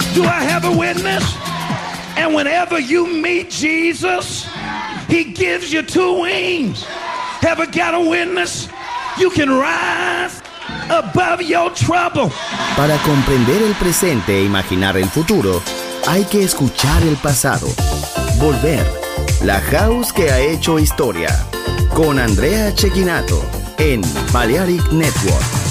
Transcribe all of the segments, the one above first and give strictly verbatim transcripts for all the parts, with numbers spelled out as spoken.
Do I have a witness? And whenever you meet Jesus, he gives you two wings. Ever got a witness? You can rise above your trouble. Para comprender el presente e imaginar el futuro, hay que escuchar el pasado. Volver. La House que ha hecho historia. Con Andrea Cecchinato en Balearic Network.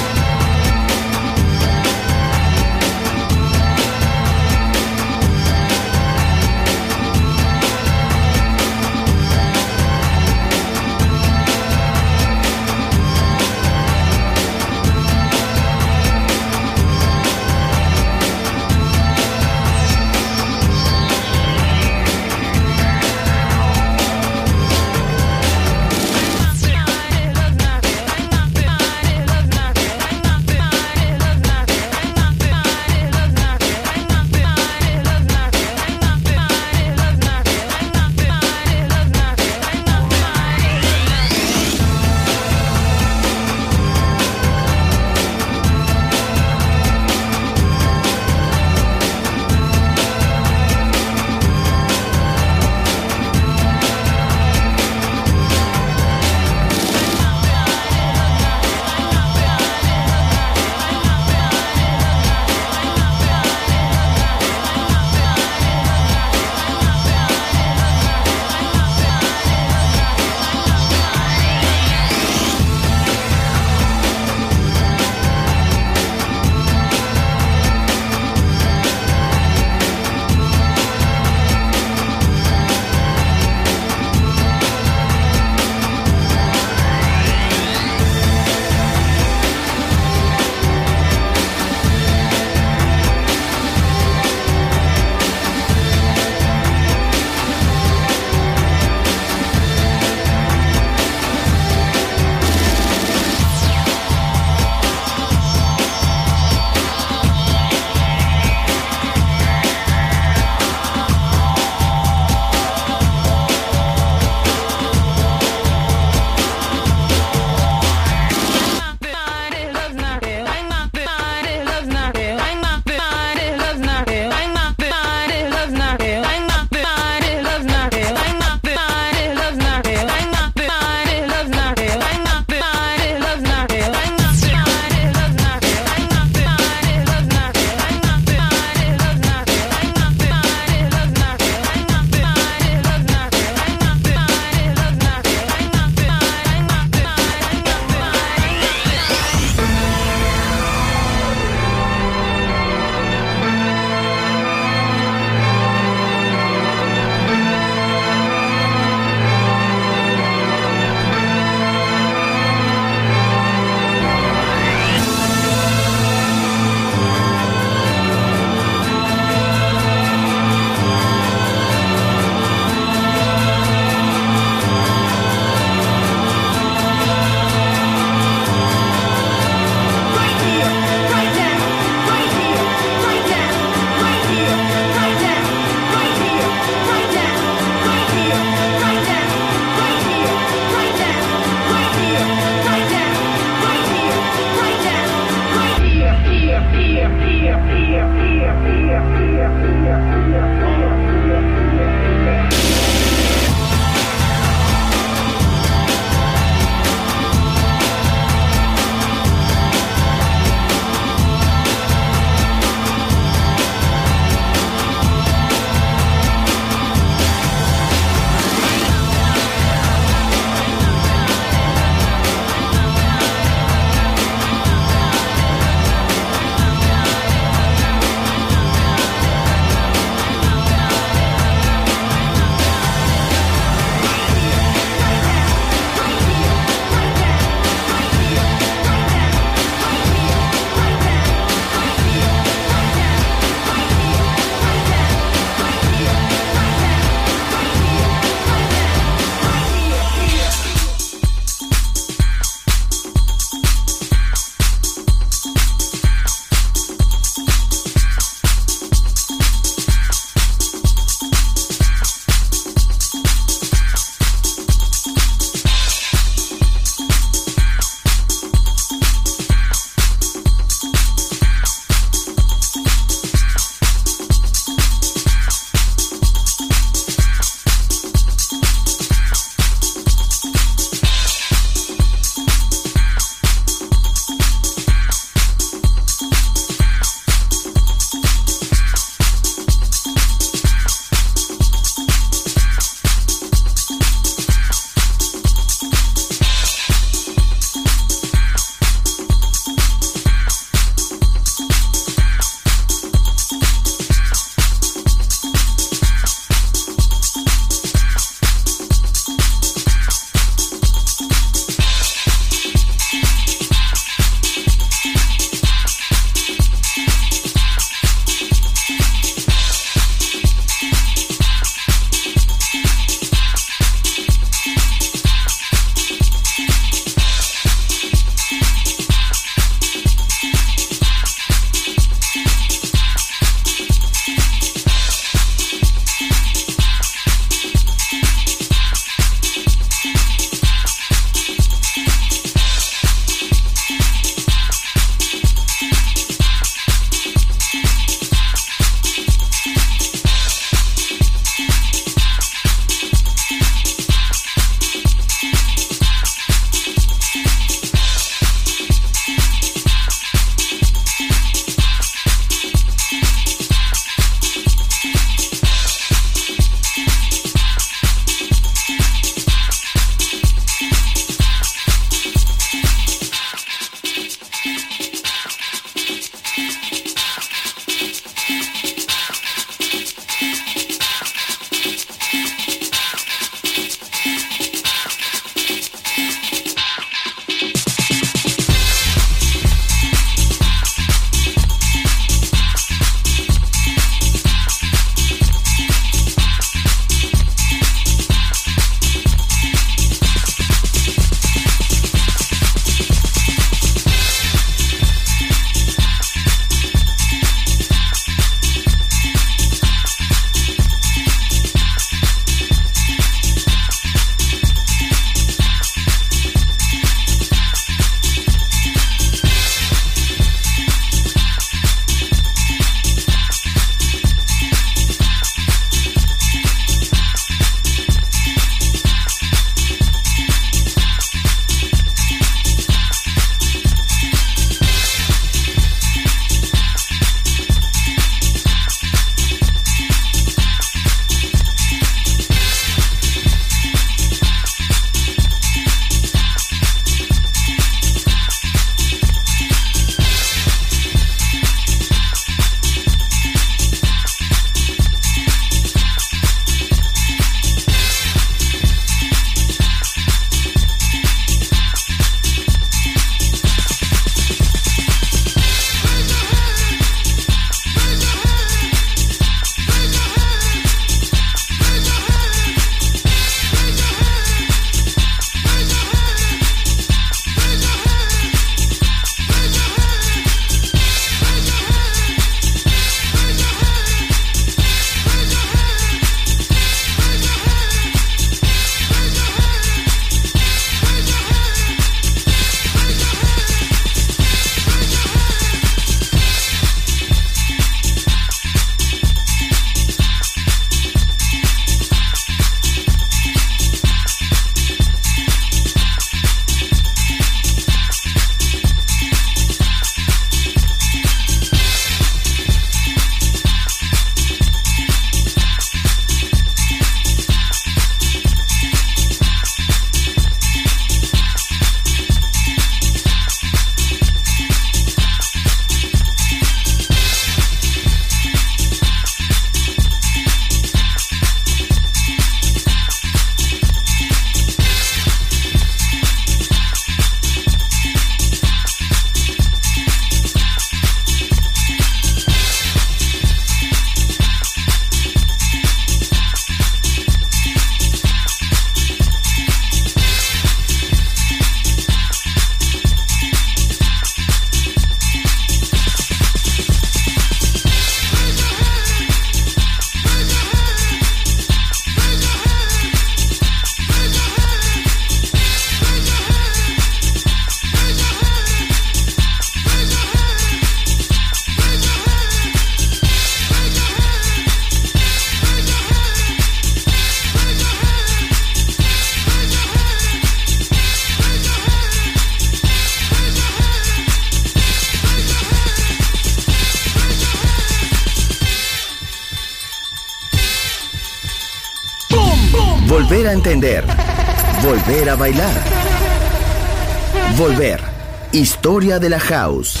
volver a entender, volver a bailar. Volver. Historia de la House.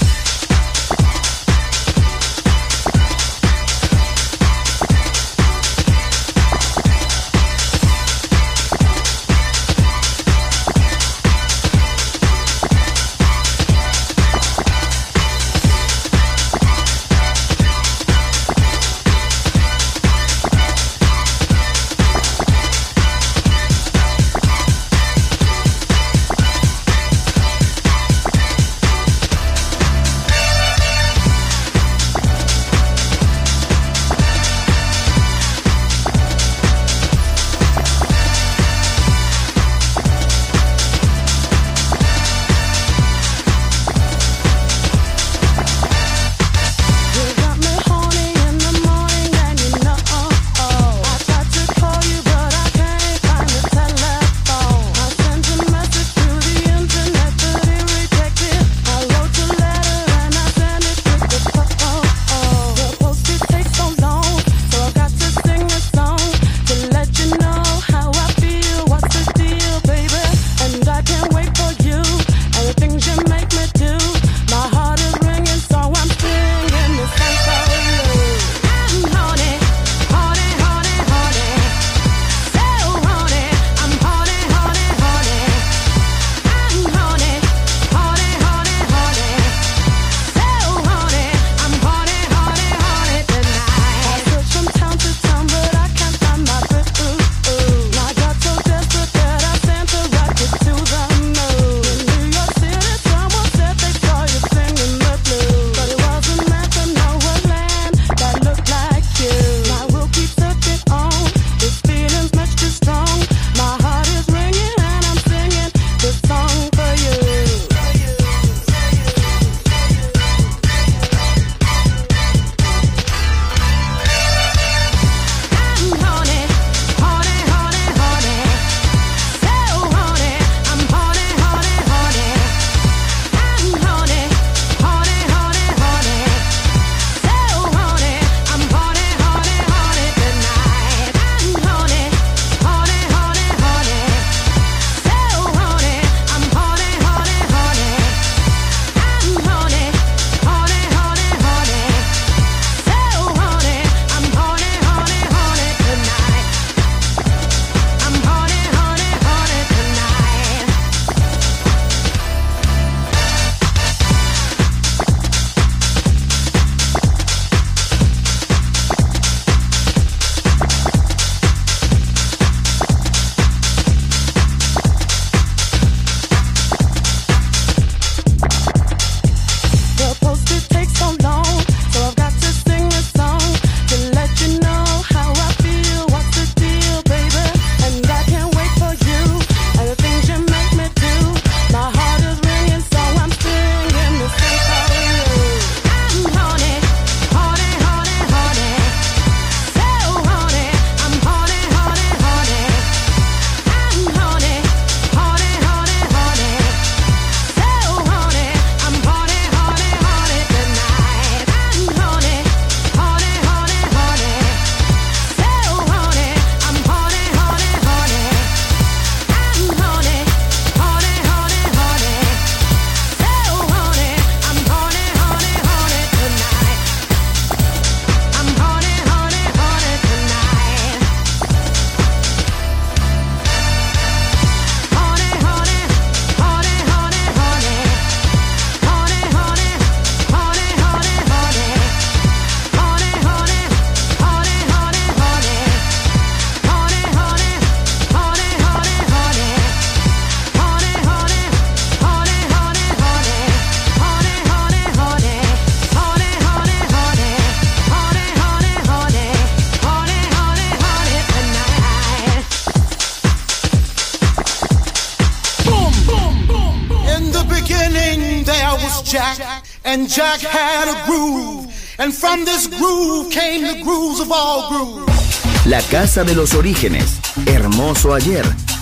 Jack, and Jack had a groove, and from this groove came the grooves of all grooves. La casa de los orígenes, hermoso ayer,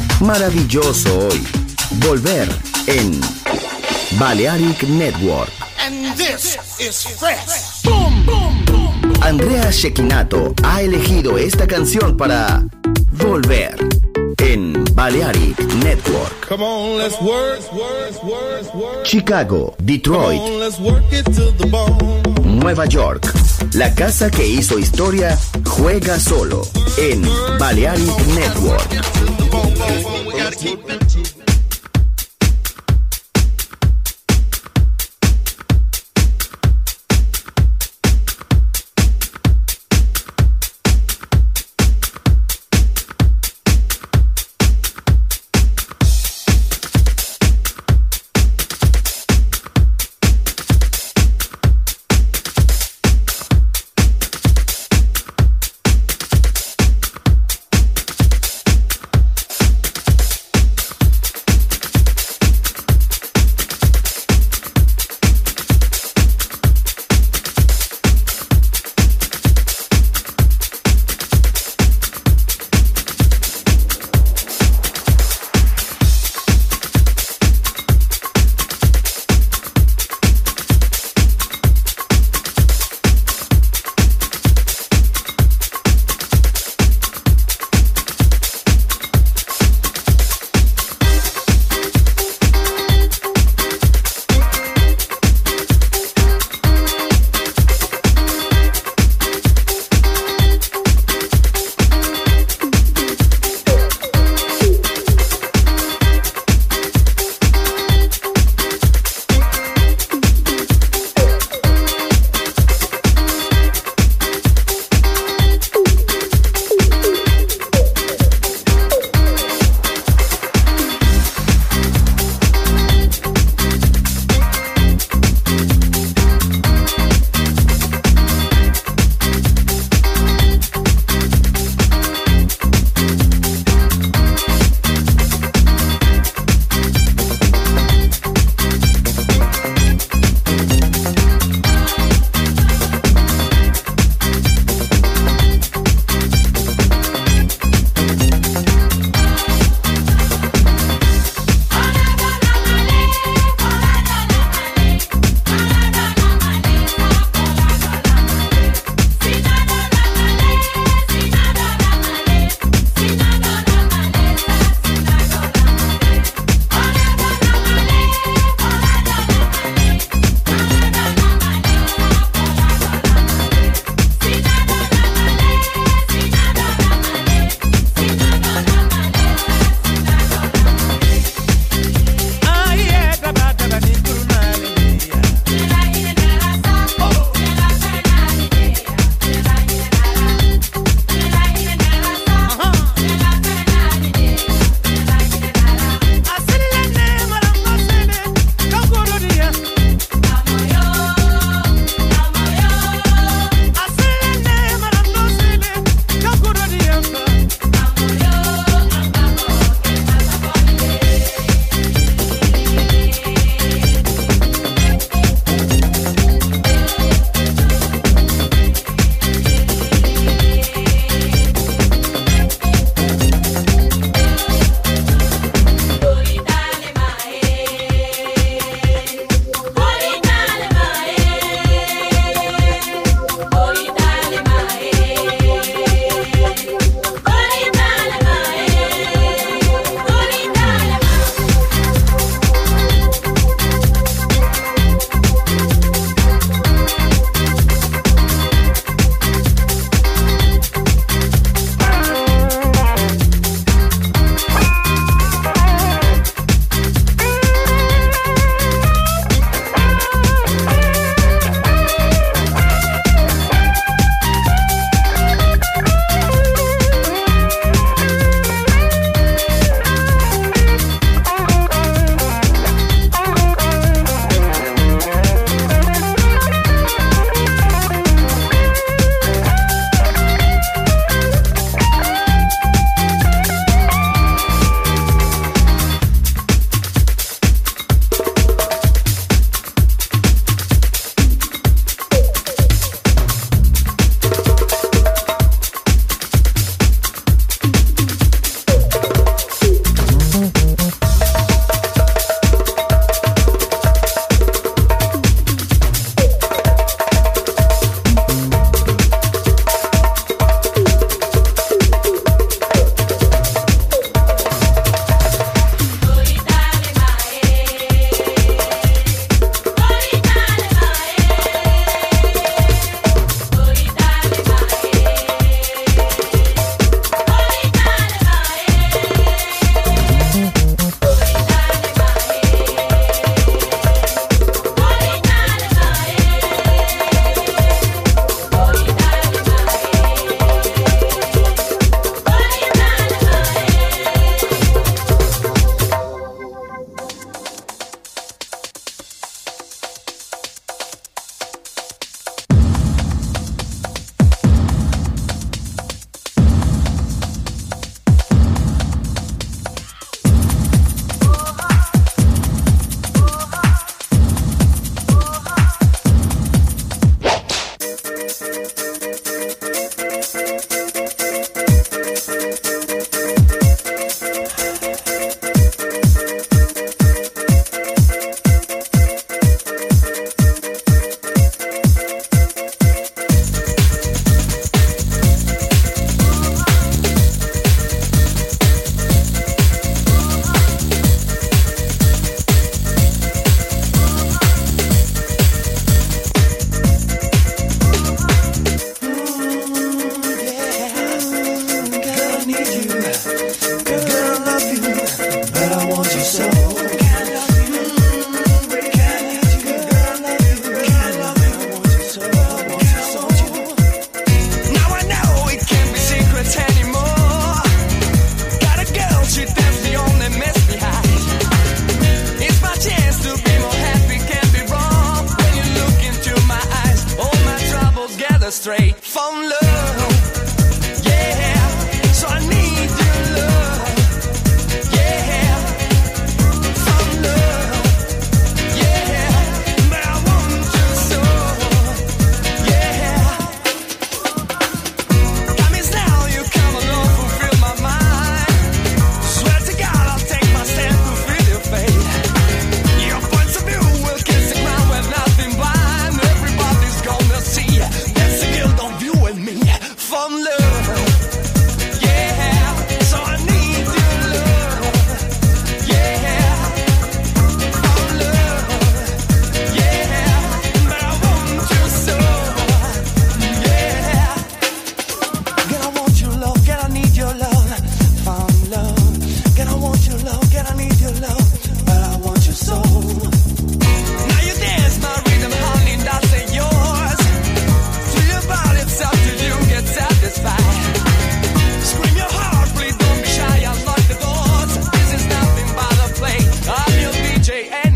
maravilloso hoy. Volver en Balearic Network. And this is fresh. Boom, boom, boom. Andrea Cecchinato ha elegido esta canción para volver en Balearic Network. Come on, let's work, work, work, work. Chicago, Detroit, Come on, let's work it to the bone. Nueva York. La casa que hizo historia juega solo en Balearic Network.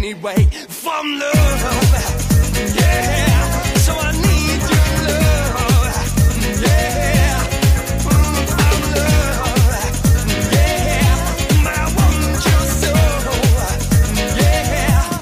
anyway from love. Yeah, so I need your love. Yeah, mm, from love. Yeah, I want you so. Yeah.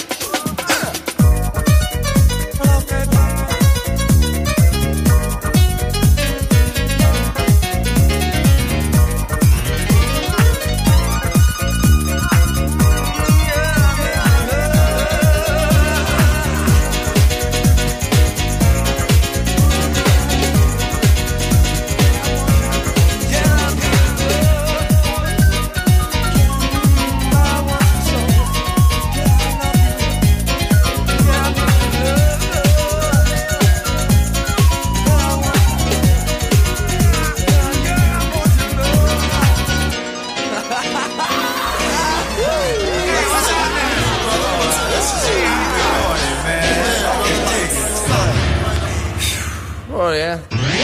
Oh, yeah.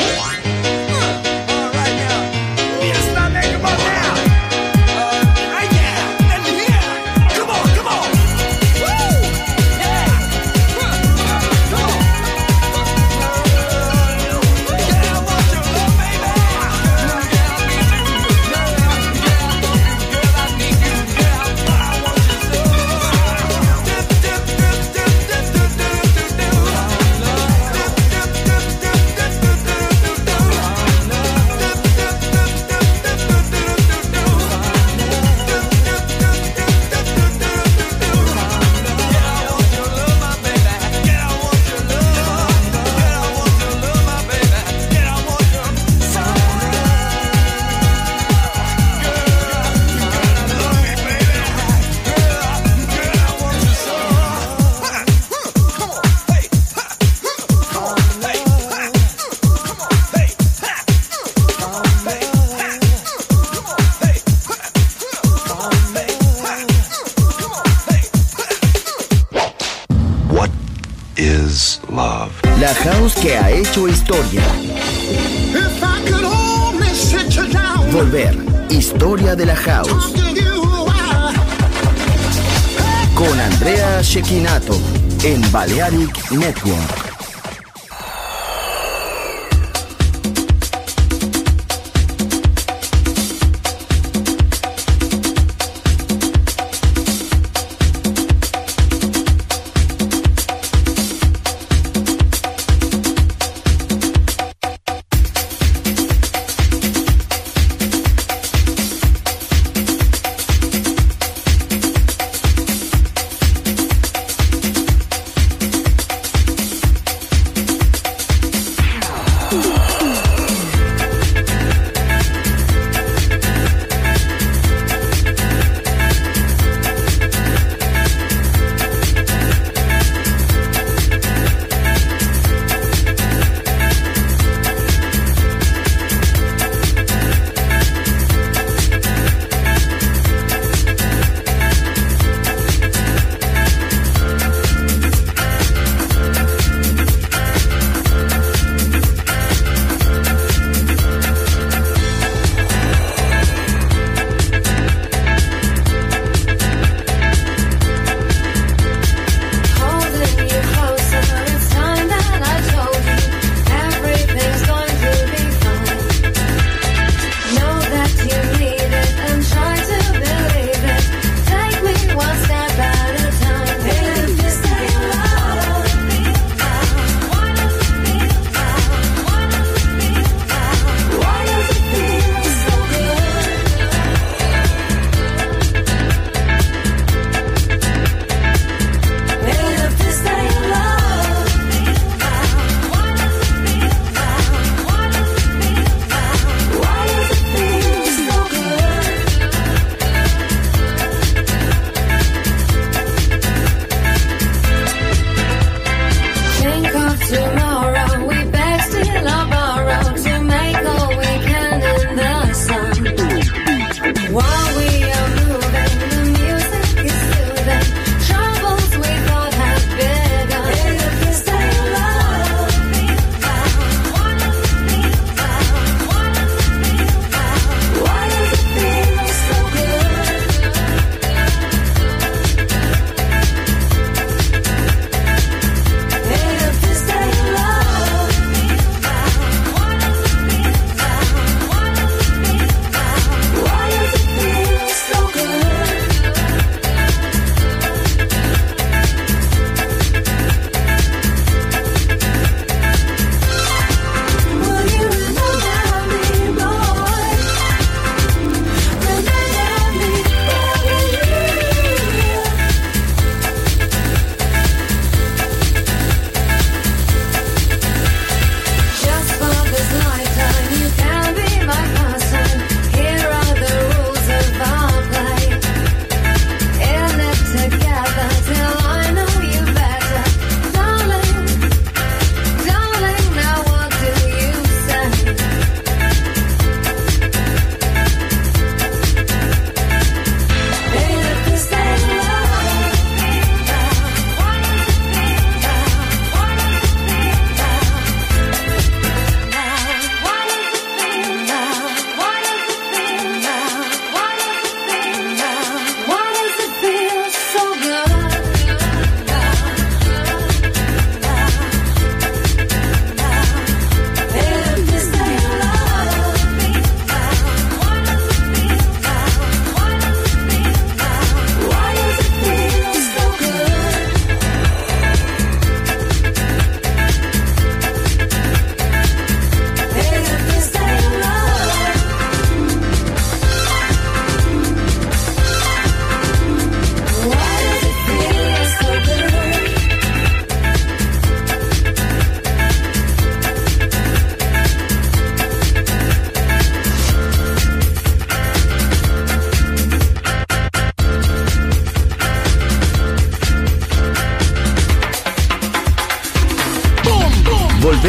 Is love. La house que ha hecho historia. If I could only sit you down. Volver. Historia de la house. Con Andrea Cecchinato en Balearic Network.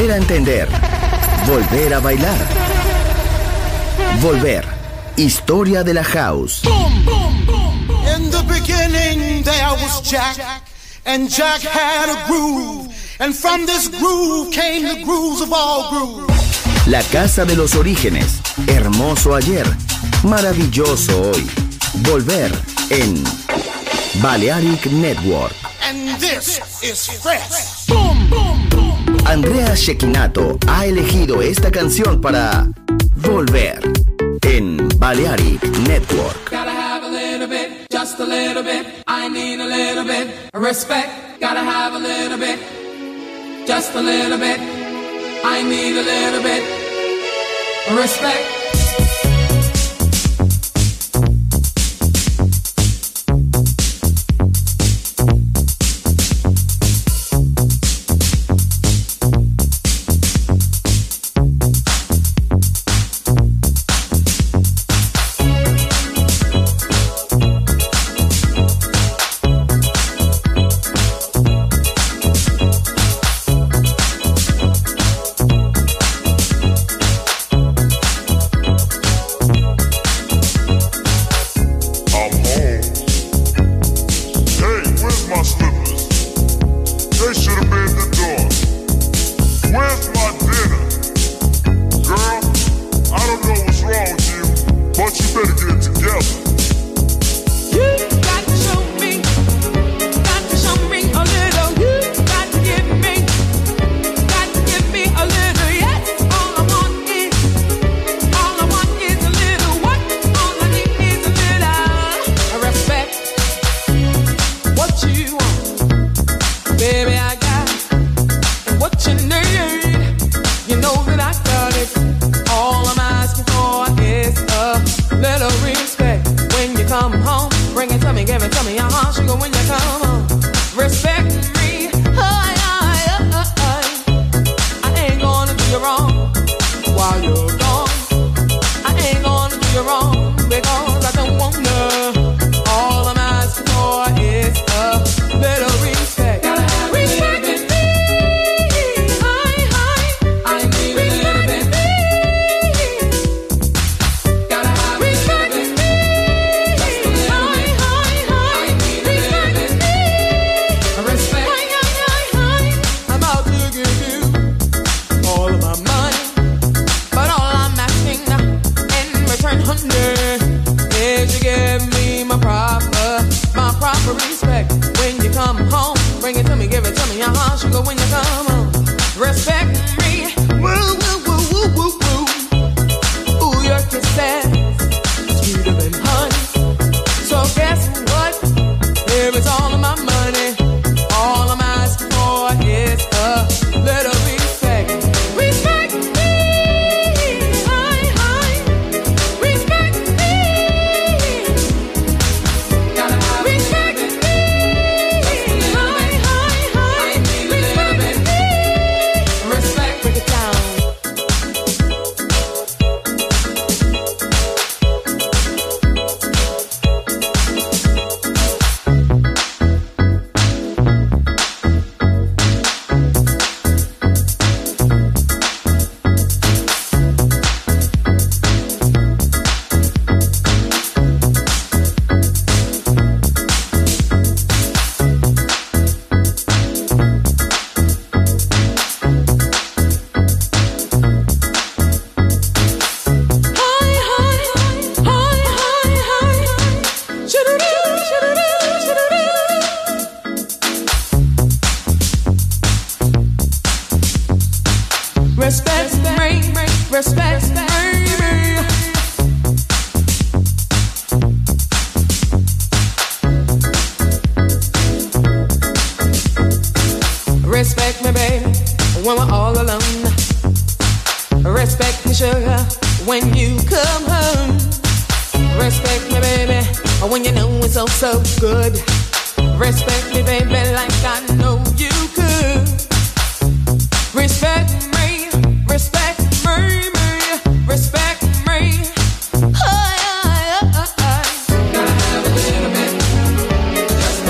volver a entender, volver a bailar. Volver, historia de la house. In the beginning there was Jack, and Jack had a groove, and from this groove came the grooves of all grooves. La casa de los orígenes, hermoso ayer, maravilloso hoy. Volver en Balearic Network. And this is fresh. Boom, boom, boom. Andrea Cecchinato ha elegido esta canción para Volver en Balearic Network. Gotta have a little bit, just a little bit. I need a little bit of respect. Gotta have a little bit, just a little bit. I need a little bit of respect.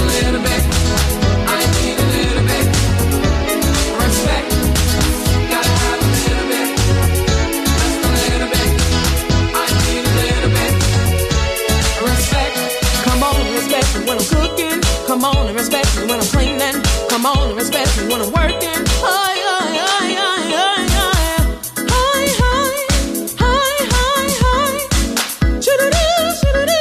Gotta and respect me when I'm cleaning. Come on and respect me when I'm working. Hi, hi, hi, hi, hi, hi. Hi, hi, hi, hi, hi. Shoo-doo-doo, shoo-doo-doo.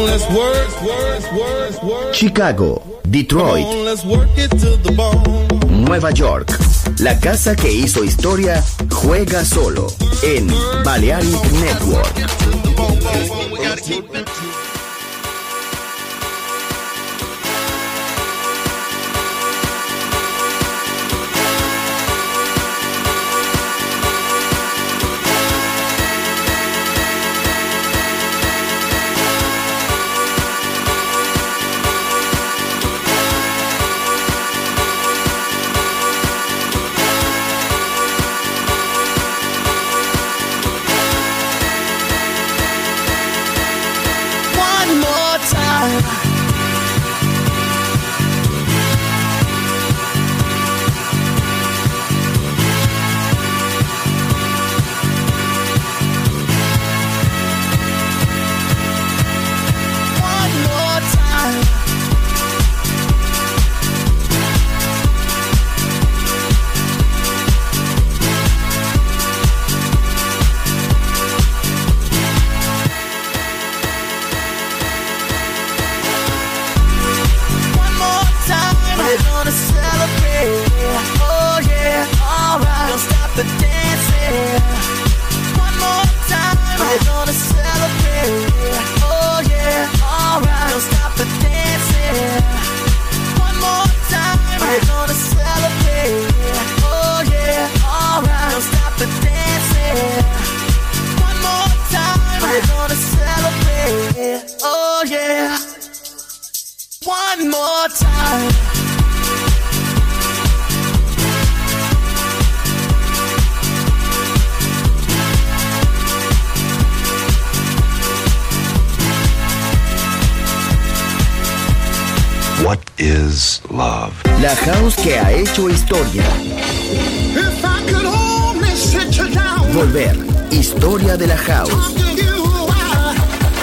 on, let's work, work, work, work. Chicago, Detroit, Come on, let's work it to the bone. Nueva York. La casa que hizo historia juega solo en Balearic Network. What is love? La house que ha hecho historia. If I could only sit you down, Volver, historia de la house. talk to you, I-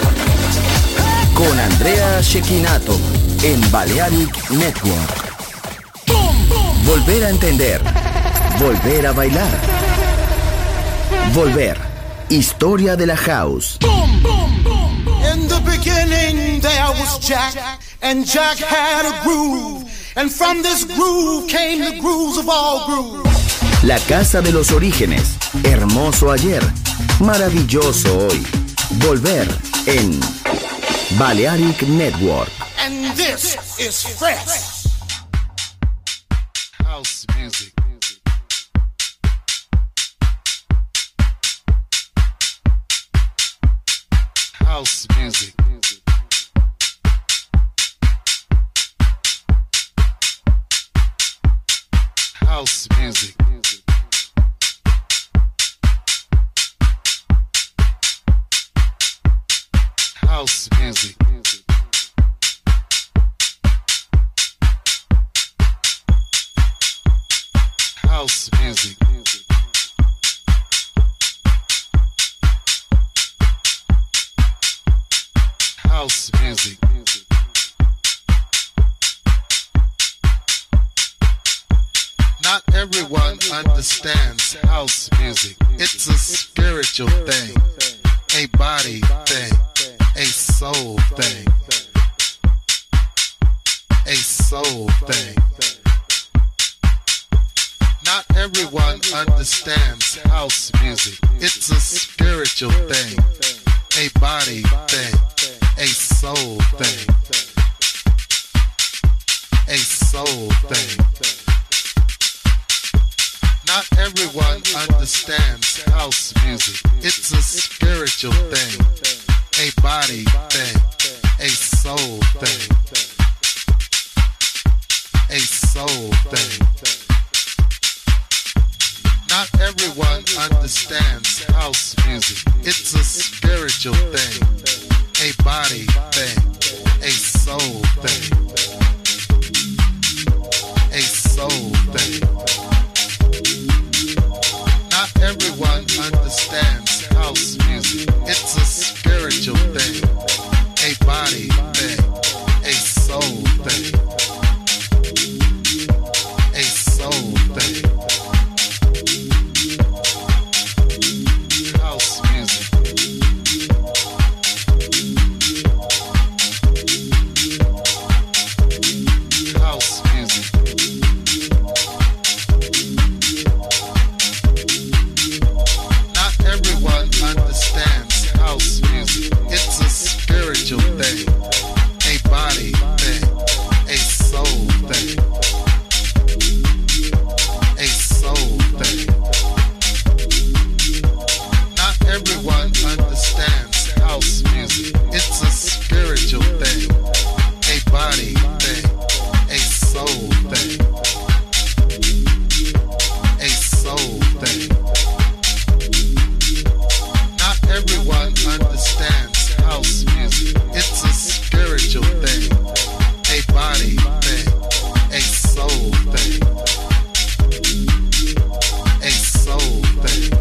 Con Andrea Cecchinato en Balearic Network. Volver a entender. Volver a bailar. Volver, historia de la house. In the beginning there was Jack, and Jack had a groove, and from this groove came the grooves of all grooves. La casa de los orígenes. Hermoso ayer. Maravilloso hoy. Volver en Balearic Network. And this is fresh. House music. House music. House music. House music. House music. House music. Not everyone understands house music. It's a spiritual thing, a body thing, a soul thing, a soul thing. Not everyone understands house music. It's a spiritual thing, a body thing, a soul thing, a soul thing. Not everyone understands house music. It's a spiritual thing, a body thing, a soul thing, a soul thing. Not everyone understands house music. It's a spiritual thing, a body thing, a soul thing, a soul thing. Not everyone understands house music. It's a spiritual thing, a body thing, a soul thing, a soul thing. House music. music. It's a spiritual thing, a body thing, a soul thing, a soul thing. Not everyone understands house music. It's a spiritual thing, a body thing, a soul thing, a soul thing.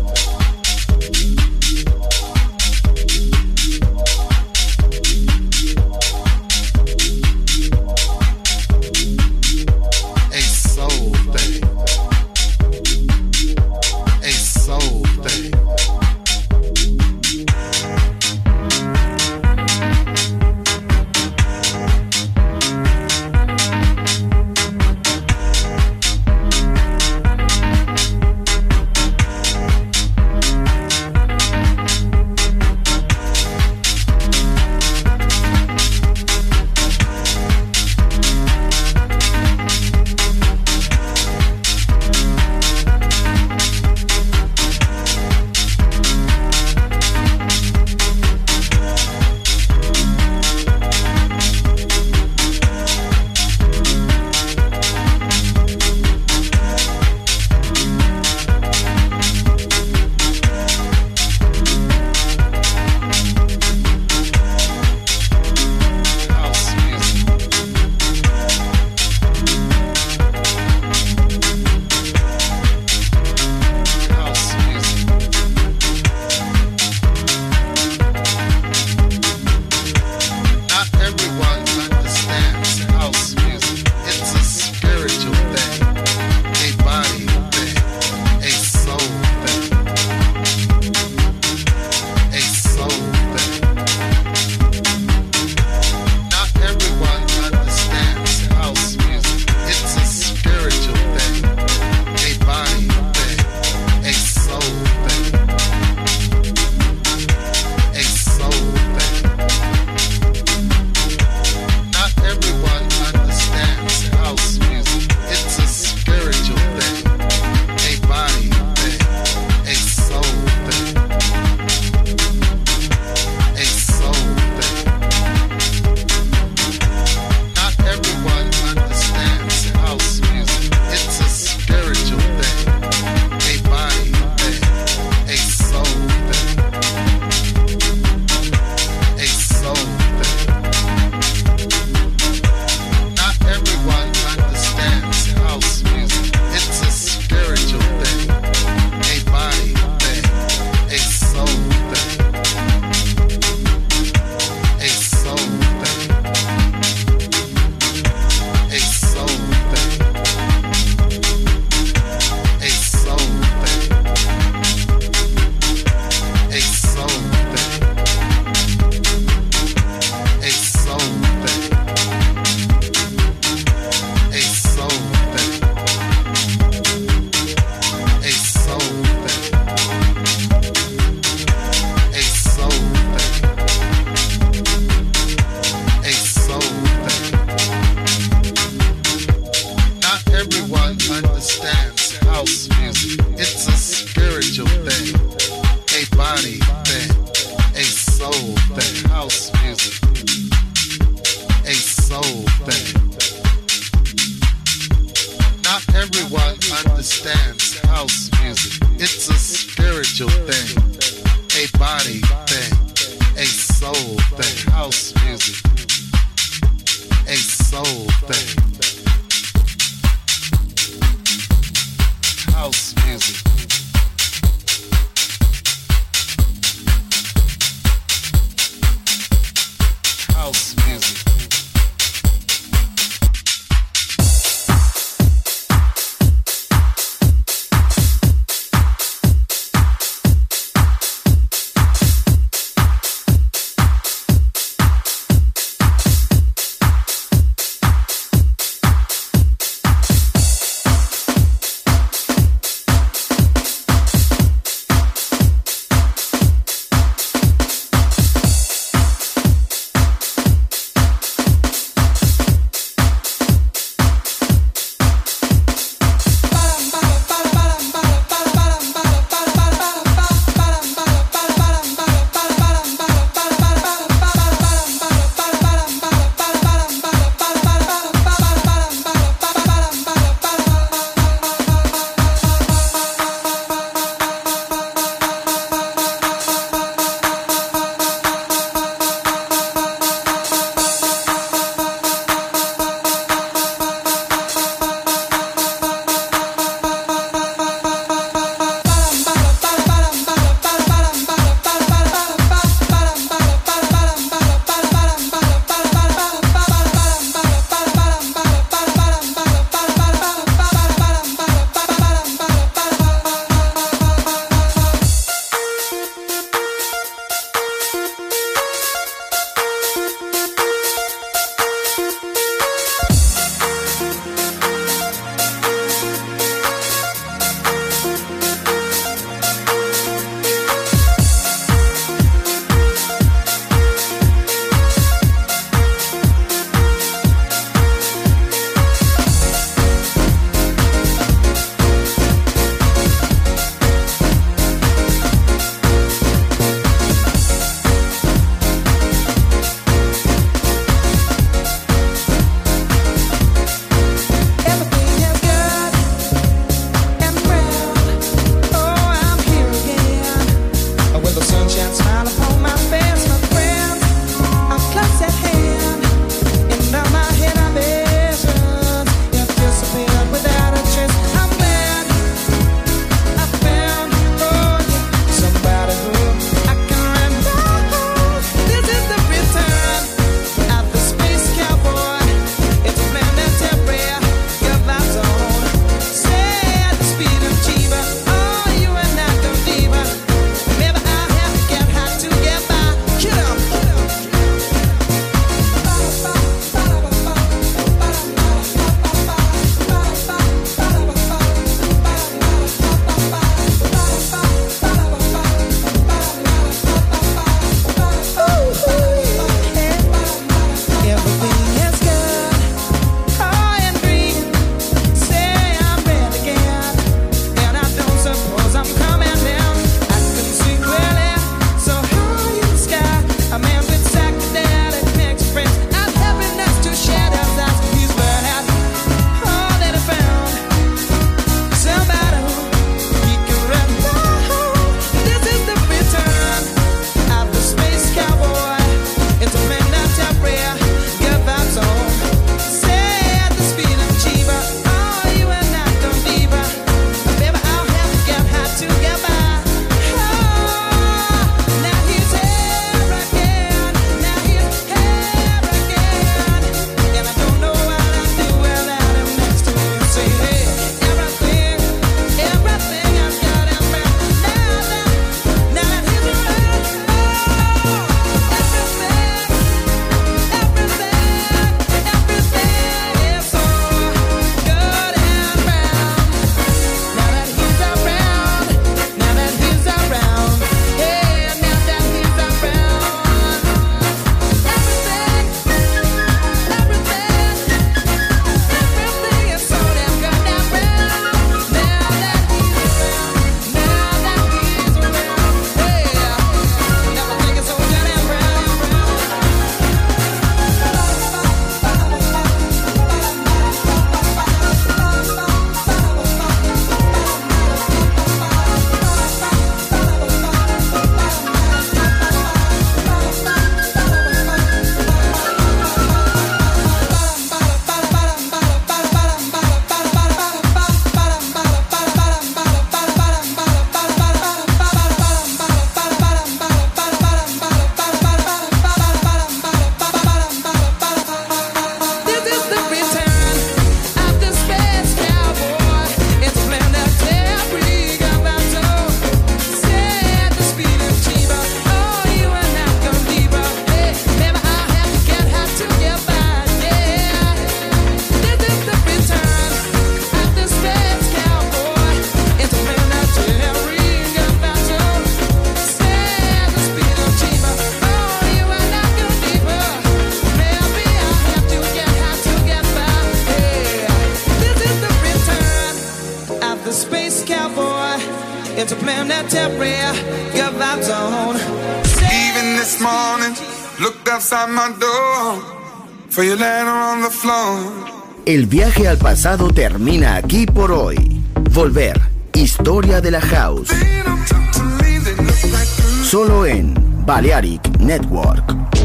It's a plan that temporary, your vibes on. Even this morning, looked outside my door for your letter on the floor. El viaje al pasado termina aquí por hoy. Volver, historia de la house. Solo en Balearic Network.